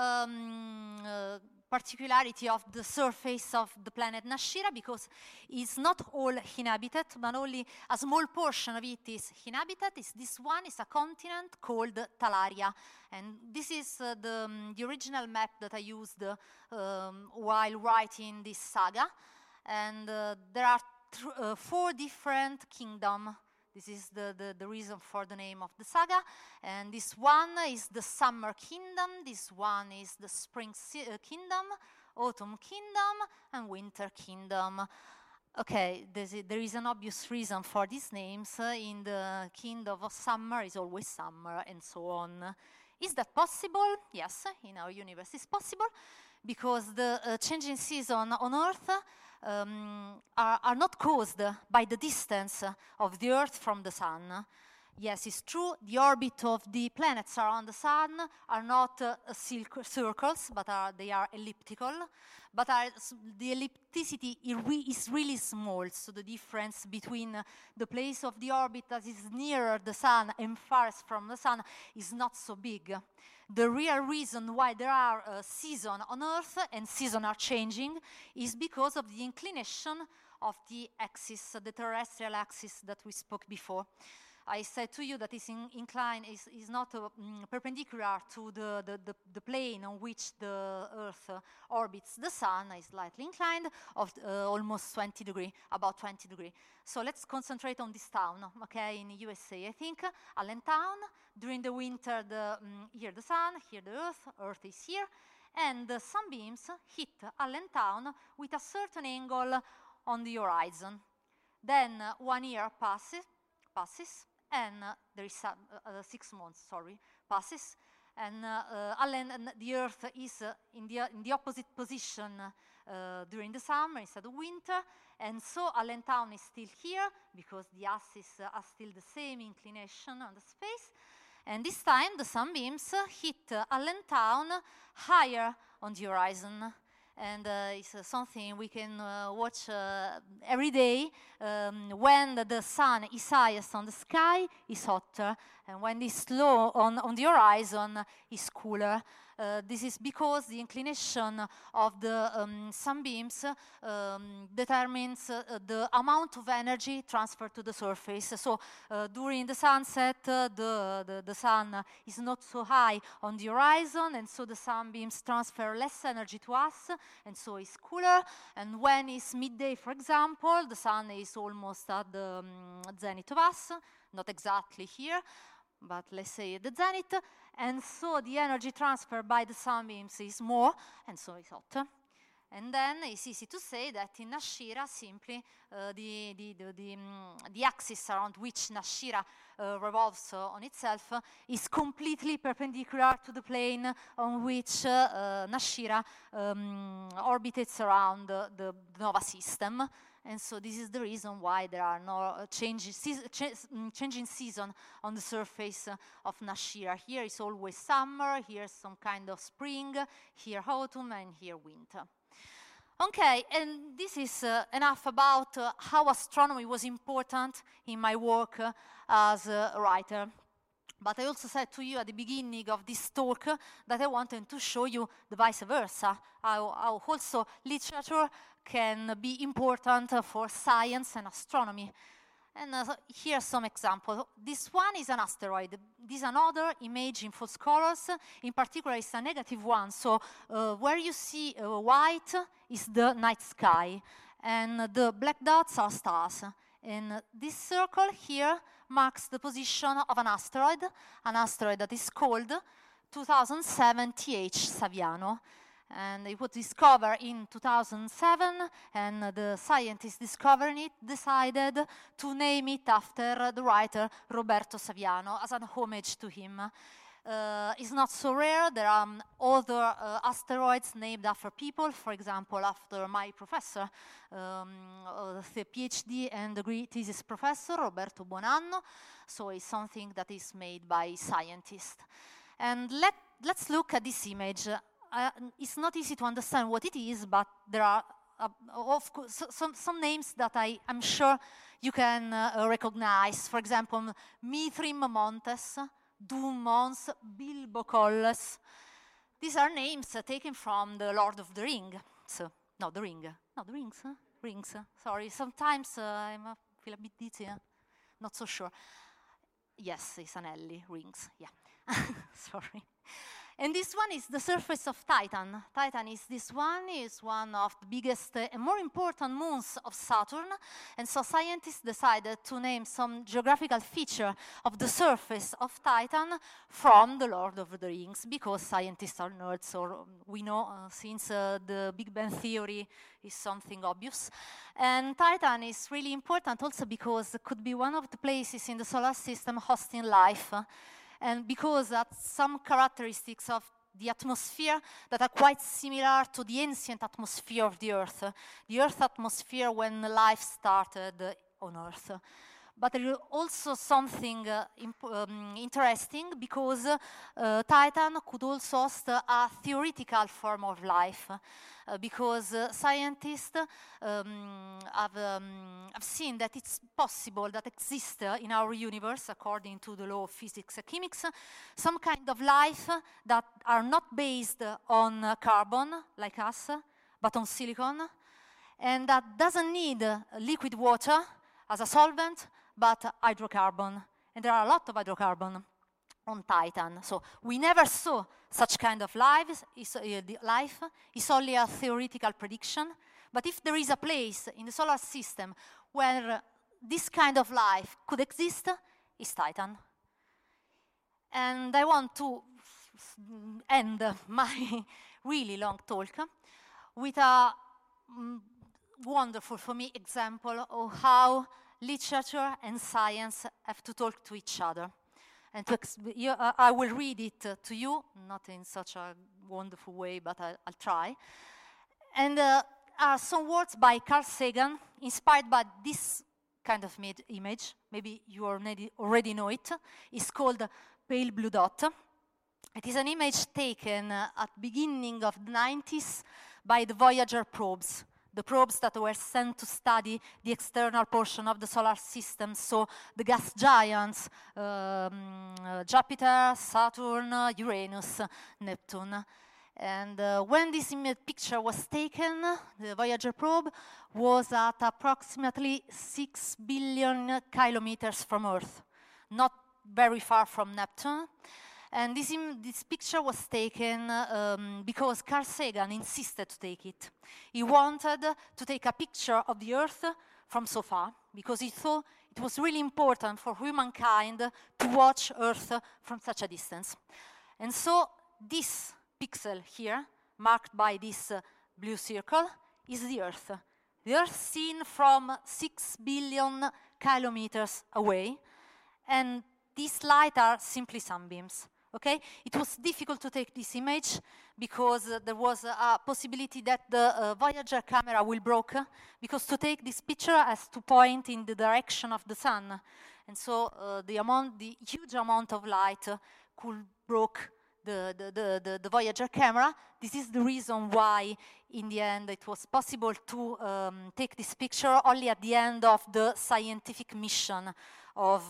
[SPEAKER 9] other particularity of the surface of the planet Nashira, because it's not all inhabited, but only a small portion of it is inhabited. This one is a continent called Talaria, and this is the original map that I used while writing this saga. And there are 4 different kingdoms. This is the reason for the name of the saga. And this one is the Summer Kingdom, this one is the Spring Kingdom, Autumn Kingdom, and Winter Kingdom. Okay, there is an obvious reason for these names. In the Kingdom of Summer is always summer, and so on. Is that possible? Yes, in our universe it's possible, because the changing season on Earth are not caused by the distance of the Earth from the Sun. Yes, it's true, the orbit of the planets around the Sun are not circles, but they are elliptical. But the ellipticity is really small, so the difference between the place of the orbit that is nearer the Sun and farthest from the Sun is not so big. The real reason why there are seasons on Earth and seasons are changing is because of the inclination of the axis, the terrestrial axis that we spoke before. I said to you that this incline is not perpendicular to the plane on which the Earth orbits the Sun, is slightly inclined of almost 20 degrees, about 20 degrees. So let's concentrate on this town, okay, in the USA. I think Allentown, during the winter, here the Sun, here the Earth is here, and the sunbeams hit Allentown with a certain angle on the horizon. Then 1 year passes, and there is 6 months, passes, and the Earth is in the opposite position during the summer instead of winter, and so Allentown is still here because the axes are still the same inclination on the space, and this time the sunbeams hit Allentown higher on the horizon. And it's something we can watch every day. When the sun is highest on the sky, it's hotter, and when it's low on the horizon, it's cooler. This is because the inclination of the sunbeams determines the amount of energy transferred to the surface. So during the sunset, the sun is not so high on the horizon, and so the sunbeams transfer less energy to us, and so it's cooler. And when it's midday, for example, the sun is almost at the zenith of us, not exactly here, but let's say at the zenith, and so the energy transfer by the sunbeams is more, and so it's hotter. And then it's easy to say that in Nashira, simply the axis around which Nashira revolves on itself is completely perpendicular to the plane on which Nashira orbits around the Nova system. And so this is the reason why there are no changing season on the surface of Nashira. Here is always summer, here is some kind of spring, here autumn, and here winter. Okay, and this is enough about how astronomy was important in my work as a writer. But I also said to you at the beginning of this talk that I wanted to show you the vice versa, how also literature can be important for science and astronomy. And here's some examples. This one is an asteroid. This is another image in false colors. In particular, it's a negative one. So where you see white is the night sky, and the black dots are stars. And this circle here marks the position of an asteroid that is called 2007 TH Saviano. And it was discovered in 2007, and the scientists discovering it decided to name it after the writer Roberto Saviano as an homage to him. It's not so rare. There are other asteroids named after people, for example, after my professor, the PhD and degree thesis professor, Roberto Buonanno. So it's something that is made by scientists. And let's look at this image. It's not easy to understand what it is, but there are of course some names that I'm sure you can recognize. For example, Mithrim Montes, Doom Mons, Bilbo Colles. These are names taken from the Lord of the Ring. So, no, the Ring. No, the Rings. Rings. Sorry, sometimes I feel a bit dizzy. Not so sure. Yes, it's Anelli, rings, yeah. Sorry. And this one is the surface of Titan. Titan is one of the biggest and more important moons of Saturn. And so scientists decided to name some geographical feature of the surface of Titan from the Lord of the Rings, because scientists are nerds, or we know since the Big Bang Theory is something obvious. And Titan is really important also because it could be one of the places in the solar system hosting life. And because that's some characteristics of the atmosphere that are quite similar to the ancient atmosphere of the Earth atmosphere when life started on Earth. But there is also something interesting, because Titan could also host a theoretical form of life, because scientists have seen that it's possible that exists in our universe, according to the law of physics and chemics, some kind of life that are not based on carbon, like us, but on silicon, and that doesn't need liquid water as a solvent, but hydrocarbon. And there are a lot of hydrocarbon on Titan. So we never saw such kind of life. It's only a theoretical prediction. But if there is a place in the solar system where this kind of life could exist, it's Titan. And I want to end my really long talk with a wonderful, for me, example of how literature and science have to talk to each other. And I will read it to you, not in such a wonderful way, but I'll try. And are some words by Carl Sagan, inspired by this kind of image. Maybe you already know it. It's called Pale Blue Dot. It is an image taken at the beginning of the 90s by the Voyager probes. The probes that were sent to study the external portion of the solar system, so the gas giants, Jupiter, Saturn, Uranus, Neptune. And when this picture was taken, the Voyager probe was at approximately 6 billion kilometers from Earth, not very far from Neptune. And this picture was taken because Carl Sagan insisted to take it. He wanted to take a picture of the Earth from so far, because he thought it was really important for humankind to watch Earth from such a distance. And so this pixel here, marked by this blue circle, is the Earth. The Earth seen from 6 billion kilometers away, and these light are simply sunbeams. Okay, it was difficult to take this image because there was a possibility that the Voyager camera will break, because to take this picture has to point in the direction of the sun, and so the huge amount of light could break the Voyager camera. This is the reason why, in the end, it was possible to take this picture only at the end of the scientific mission of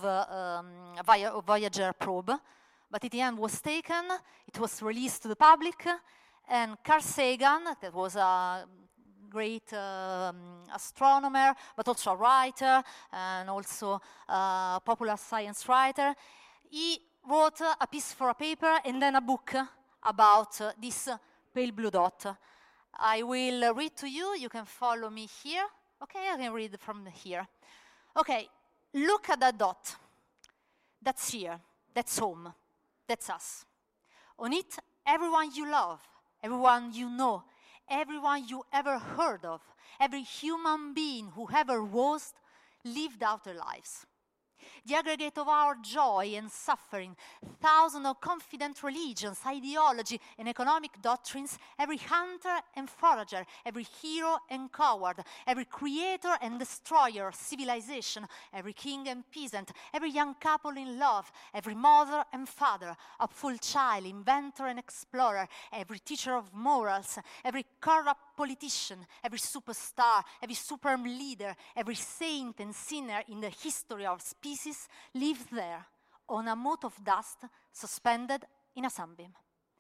[SPEAKER 9] Voyager probe. But in the end was taken, it was released to the public, and Carl Sagan, that was a great astronomer, but also a writer, and also a popular science writer, he wrote a piece for a paper and then a book about this pale blue dot. I will read to you, you can follow me here. Okay, I can read from here. Okay, look at that dot. That's here, that's home. That's us. On it, everyone you love, everyone you know, everyone you ever heard of, every human being who ever was, lived out their lives. the aggregate of our joy and suffering, thousands of confident religions, ideology, and economic doctrines, every hunter and forager, every hero and coward, every creator and destroyer of civilization, every king and peasant, every young couple in love, every mother and father, hopeful child, inventor and explorer, every teacher of morals, every corrupt politician, every superstar, every superb leader, every saint and sinner in the history of species lives there on a mote of dust suspended in a sunbeam.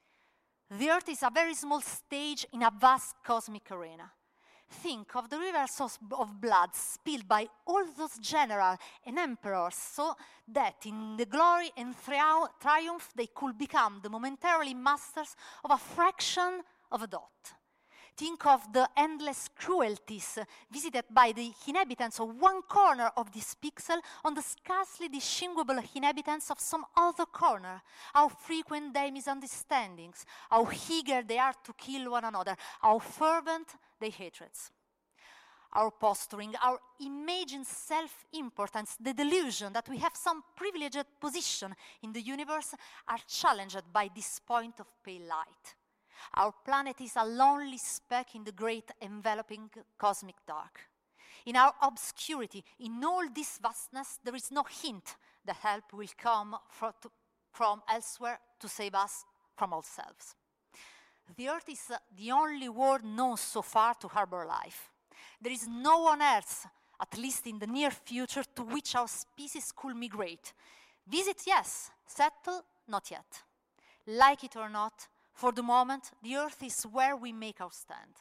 [SPEAKER 9] The Earth is a very small stage in a vast cosmic arena. Think of the rivers of blood spilled by all those generals and emperors, so that in the glory and triumph they could become the momentarily masters of a fraction of a dot. Think of the endless cruelties visited by the inhabitants of one corner of this pixel on the scarcely distinguishable inhabitants of some other corner. How frequent their misunderstandings, how eager they are to kill one another, how fervent their hatreds. Our posturing, our imagined self-importance, the delusion that we have some privileged position in the universe are challenged by this point of pale light. Our planet is a lonely speck in the great enveloping cosmic dark. In our obscurity, in all this vastness, there is no hint that help will come from elsewhere to save us from ourselves. The Earth is the only world known so far to harbor life. There is no one else, at least in the near future, to which our species could migrate. Visit, yes. Settle, not yet. Like it or not, for the moment, the Earth is where we make our stand.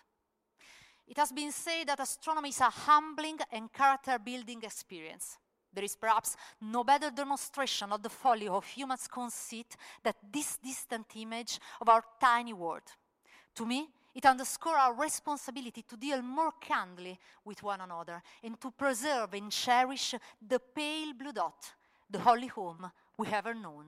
[SPEAKER 9] It has been said that astronomy is a humbling and character-building experience. There is perhaps no better demonstration of the folly of humans' conceit than this distant image of our tiny world. To me, it underscores our responsibility to deal more candidly with one another and to preserve and cherish the pale blue dot, the only home we ever known.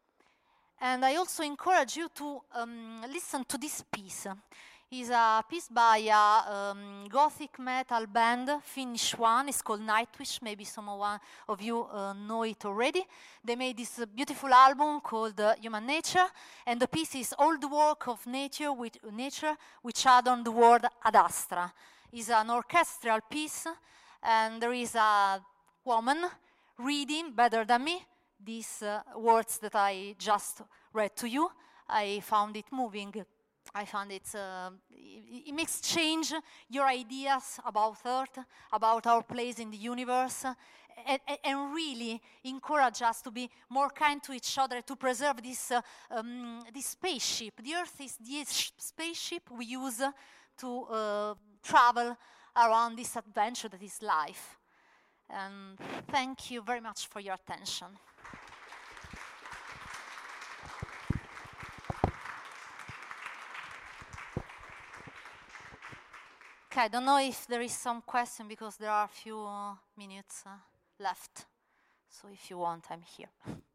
[SPEAKER 9] And I also encourage you to listen to this piece. It's a piece by a gothic metal band, Finnish one. It's called Nightwish. Maybe some of you know it already. They made this beautiful album called Human Nature, and the piece is all the work of nature which add on the word ad astra. It's an orchestral piece, and there is a woman reading better than me these words that I just read to you. I found it moving. I found it makes change your ideas about Earth, about our place in the universe, and really encourage us to be more kind to each other, to preserve this spaceship. The Earth is the spaceship we use to travel around this adventure that is life. And thank you very much for your attention. Okay, I don't know if there is some question because there are a few minutes left. So if you want, I'm here.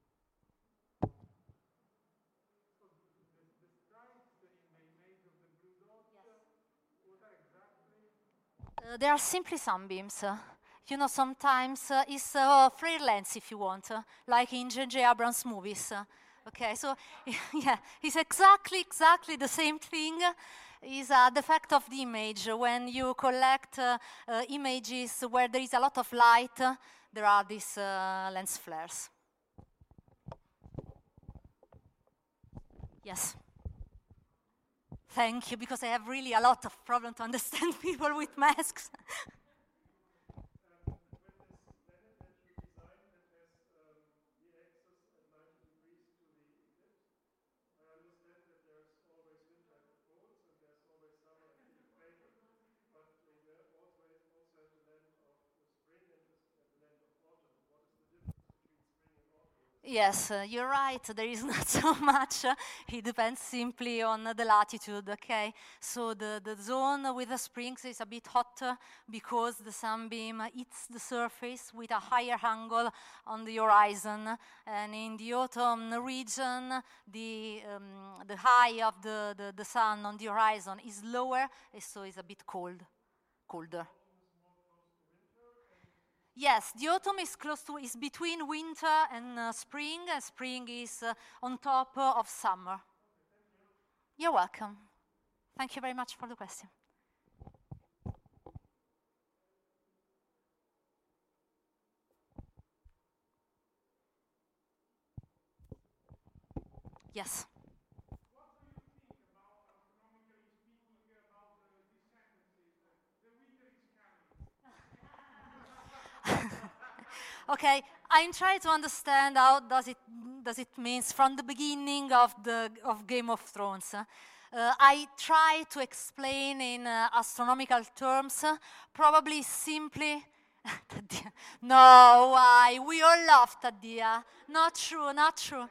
[SPEAKER 9] They are simply sunbeams. You know, sometimes it's flare lengths if you want, like in J.J. Abrams' movies. Okay, so yeah, it's exactly the same thing. Is a defect of the image. When you collect images where there is a lot of light, there are these lens flares. Yes. Thank you, because I have really a lot of problem to understand people with masks. Yes, you're right. There is not so much. It depends simply on the latitude, okay? So the zone with the springs is a bit hotter because the sunbeam hits the surface with a higher angle on the horizon. And in the autumn region, the high of the sun on the horizon is lower, so it's a bit colder. Yes, the autumn is between winter and spring is on top of summer. You're welcome. Thank you very much for the question. Yes. Okay, I'm trying to understand how does it means from the beginning of Game of Thrones. I try to explain in astronomical terms, probably simply. No, why? We all laughed at Dia. Not true, not true.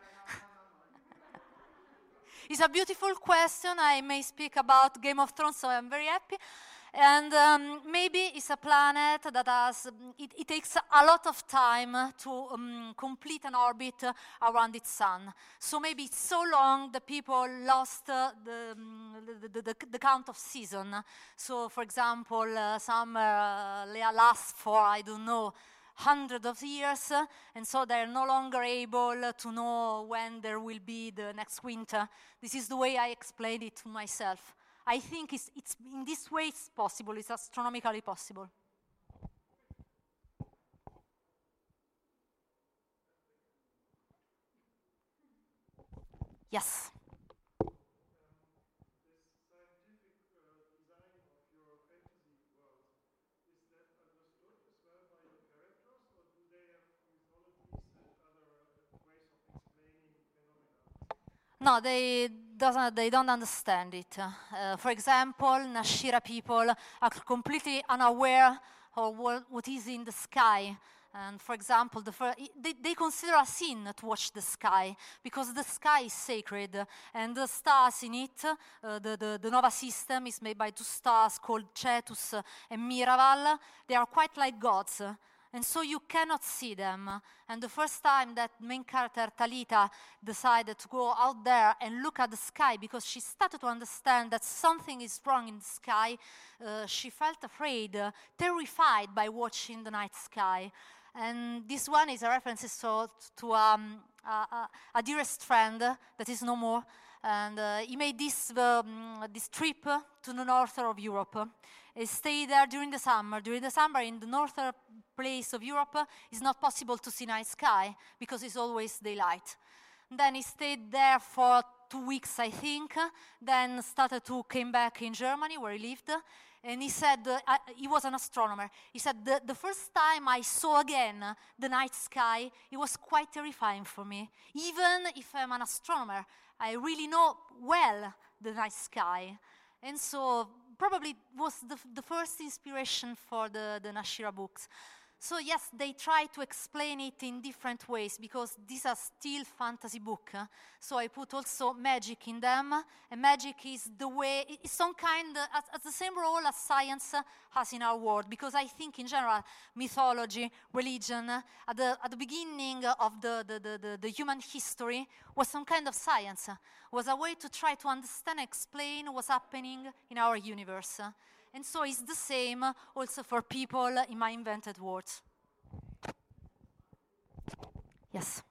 [SPEAKER 9] It's a beautiful question. I may speak about Game of Thrones, so I'm very happy. And maybe it's a planet that has, it takes a lot of time to complete an orbit around its sun. So maybe it's so long that people lost the count of season. So for example, summer lasts for, I don't know, hundreds of years, and so they're no longer able to know when there will be the next winter. This is the way I explain it to myself. I think it's in this way it's possible, it's astronomically possible. Yes. No, they don't understand it. For example, Nashira people are completely unaware of what is in the sky. And for example, they consider a sin to watch the sky because the sky is sacred, and the stars in it, the Nova system is made by two stars called Cetus and Miraval. They are quite like gods. And so you cannot see them. And the first time that main character Talita decided to go out there and look at the sky because she started to understand that something is wrong in the sky, she felt afraid, terrified by watching the night sky. And this one is a reference to a dearest friend that is no more. And he made this trip to the north of Europe. He stayed there during the summer. During the summer, in the northern place of Europe, it's not possible to see night sky because it's always daylight. Then he stayed there for 2 weeks, I think. Then came back in Germany where he lived. And he said, he was an astronomer. He said, the first time I saw again the night sky, it was quite terrifying for me. Even if I'm an astronomer, I really know well the night sky. And so probably was the first inspiration for the Nashira books. So yes, they try to explain it in different ways because these are still fantasy books. So I put also magic in them, and magic is the way, it's some kind, as the same role as science has in our world, because I think in general, mythology, religion, at the beginning of the human history was some kind of science, was a way to try to understand and explain what's happening in our universe. And so it's the same also for people in my invented words. Yes.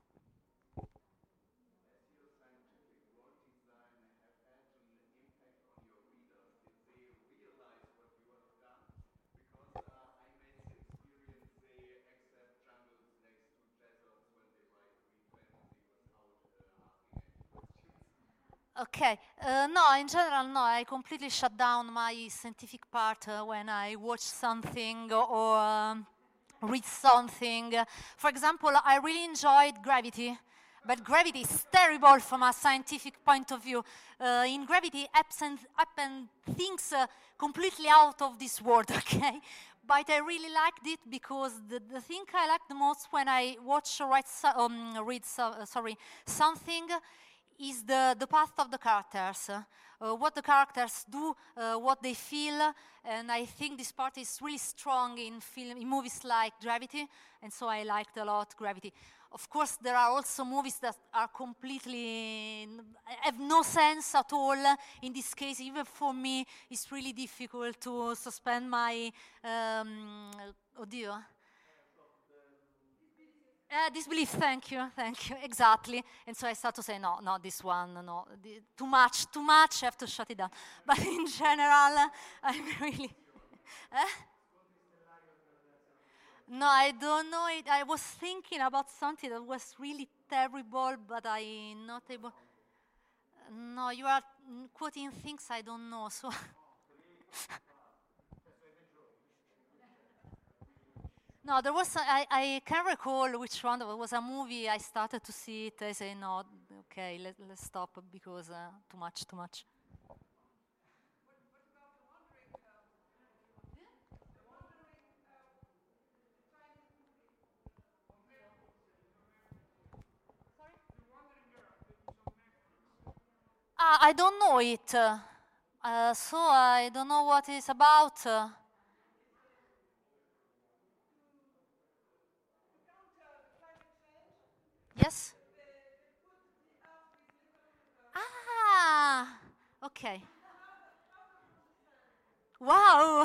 [SPEAKER 9] Okay, no, in general, no, I completely shut down my scientific part when I watch something or read something. For example, I really enjoyed Gravity, but Gravity is terrible from a scientific point of view. In Gravity, happen things completely out of this world, okay? But I really liked it because the thing I liked the most when I watch or read something is the path of the characters, what the characters do, what they feel, and I think this part is really strong in movies like Gravity, and so I liked a lot Gravity. Of course, there are also movies that are completely, have no sense at all. In this case, even for me, it's really difficult to suspend my, oddio. Disbelief, thank you, exactly. And so I start to say, no, this one, no, too much, I have to shut it down. But in general, I'm really... No, I don't know it. I was thinking about something that was really terrible, but I'm not able... No, you are quoting things I don't know, so... No, there was, I can't recall which one, there was a movie, I started to see it, I say, no, okay, let's stop because too much. I don't know it, so I don't know what it's about. Yes? Okay. Wow!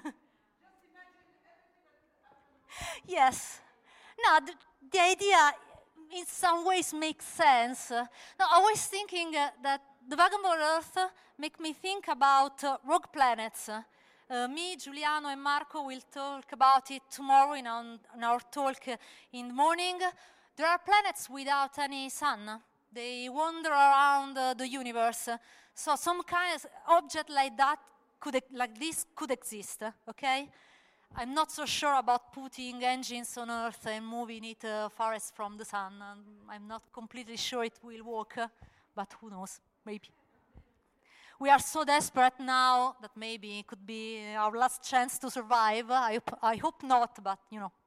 [SPEAKER 9] Yes. No, the idea in some ways makes sense. No, I was thinking that the Vagabond Earth make me think about rogue planets. Me, Giuliano, and Marco will talk about it tomorrow in our talk in the morning. There are planets without any sun. They wander around the universe. So some kind of object like that, like this, could exist, okay? I'm not so sure about putting engines on Earth and moving it farthest from the sun. I'm not completely sure it will work, but who knows, maybe. We are so desperate now that maybe it could be our last chance to survive. I hope not, but you know.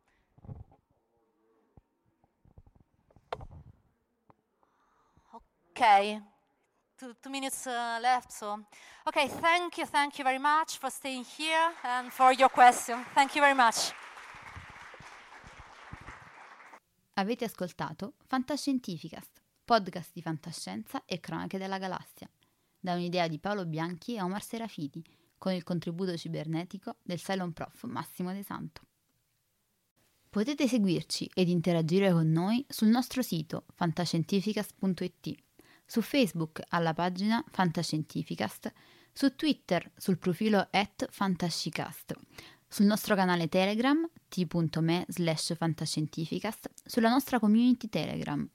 [SPEAKER 9] Okay, two minutes left, so. Okay, thank you very much for staying here and for your question. Thank you very much.
[SPEAKER 10] Avete ascoltato Fantascientificast, podcast di fantascienza e cronache della galassia, da un'idea di Paolo Bianchi e Omar Serafiti, con il contributo cibernetico del Cylon Prof Massimo De Santo. Potete seguirci ed interagire con noi sul nostro sito fantascientificast.it, su Facebook alla pagina Fantascientificast, su Twitter sul profilo @fantascicast, sul nostro canale Telegram t.me/fantascientificast, sulla nostra community Telegram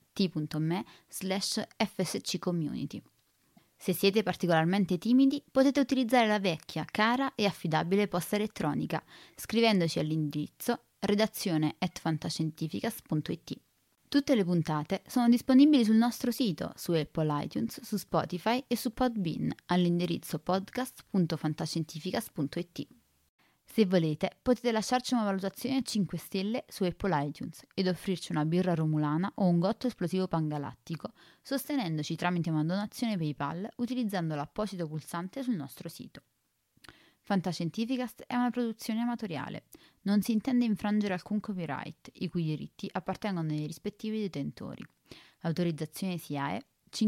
[SPEAKER 10] t.me/fsccommunity. Se siete particolarmente timidi, potete utilizzare la vecchia, cara e affidabile posta elettronica, scrivendoci all'indirizzo redazione@fantascientificast.it. Tutte le puntate sono disponibili sul nostro sito, su Apple iTunes, su Spotify e su Podbean, all'indirizzo podcast.fantascientificast.it. Se volete, potete lasciarci una valutazione a 5 stelle su Apple iTunes ed offrirci una birra romulana o un gotto esplosivo pangalattico, sostenendoci tramite una donazione PayPal utilizzando l'apposito pulsante sul nostro sito. Fantascientificast è una produzione amatoriale. Non si intende infrangere alcun copyright, i cui diritti appartengono ai rispettivi detentori. Autorizzazione SIAE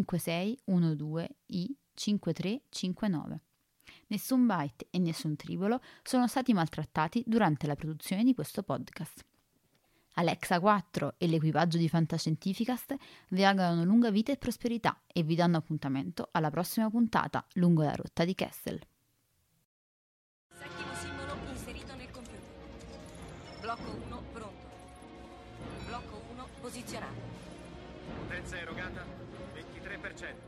[SPEAKER 10] 5612I5359. Nessun byte e nessun tribolo sono stati maltrattati durante la produzione di questo podcast. Alexa 4 e l'equipaggio di Fantascientificast vi augurano lunga vita e prosperità e vi danno appuntamento alla prossima puntata lungo la rotta di Kessel.
[SPEAKER 11] Settimo simbolo inserito nel computer. Blocco 1 pronto. Blocco 1 posizionato.
[SPEAKER 12] Potenza erogata 23%.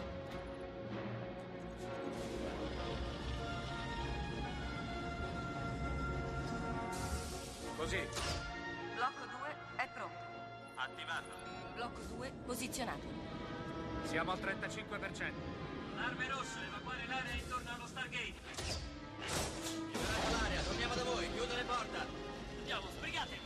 [SPEAKER 12] Così.
[SPEAKER 11] Blocco 2 è pronto.
[SPEAKER 12] Attivato.
[SPEAKER 11] Blocco 2 posizionato.
[SPEAKER 12] Siamo al 35%. Arme rosse, evacuare l'area intorno allo Stargate.
[SPEAKER 13] Liberate l'area, torniamo da voi, chiudo le porte.
[SPEAKER 12] Andiamo, sbrigate.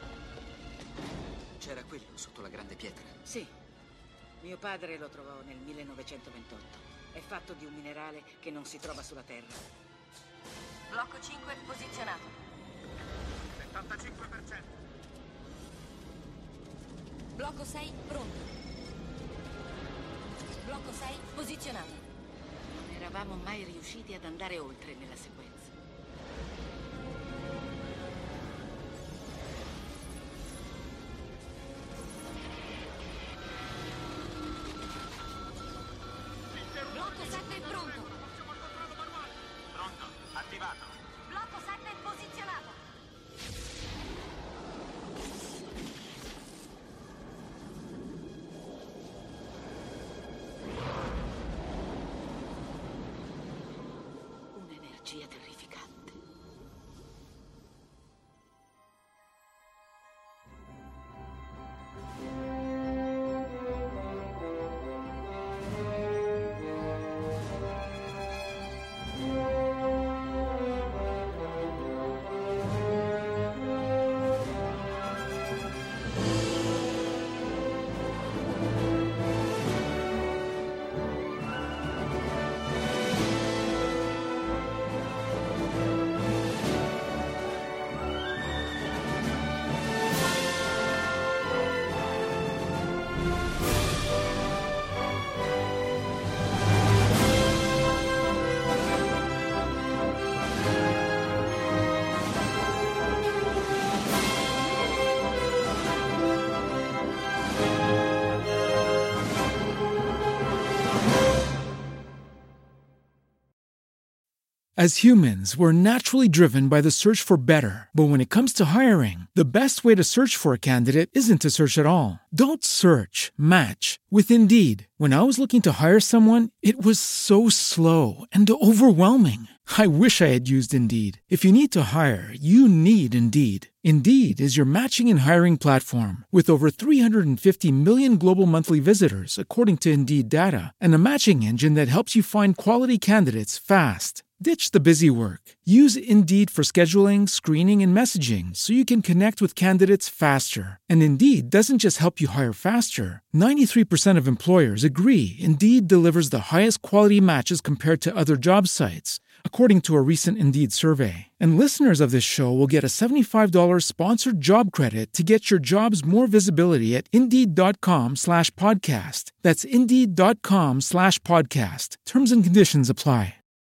[SPEAKER 13] C'era quello sotto la grande pietra?
[SPEAKER 14] Sì. Mio padre lo trovò nel 1928. È fatto di un minerale che non si trova sulla Terra.
[SPEAKER 11] Blocco 5 posizionato.
[SPEAKER 12] 75%.
[SPEAKER 11] Blocco 6 pronto. Blocco 6 posizionato.
[SPEAKER 14] Non eravamo mai riusciti ad andare oltre nella sequenza.
[SPEAKER 1] As humans, we're naturally driven by the search for better. But when it comes to hiring, the best way to search for a candidate isn't to search at all. Don't search, match with Indeed. When I was looking to hire someone, it was so slow and overwhelming. I wish I had used Indeed. If you need to hire, you need Indeed. Indeed is your matching and hiring platform with over 350 million global monthly visitors, according to Indeed data, and a matching engine that helps you find quality candidates fast. Ditch the busy work. Use Indeed for scheduling, screening, and messaging so you can connect with candidates faster. And Indeed doesn't just help you hire faster. 93% of employers agree Indeed delivers the highest quality matches compared to other job sites, according to a recent Indeed survey. And listeners of this show will get a $75 sponsored job credit to get your jobs more visibility at Indeed.com/podcast. That's Indeed.com/podcast. Terms and conditions apply.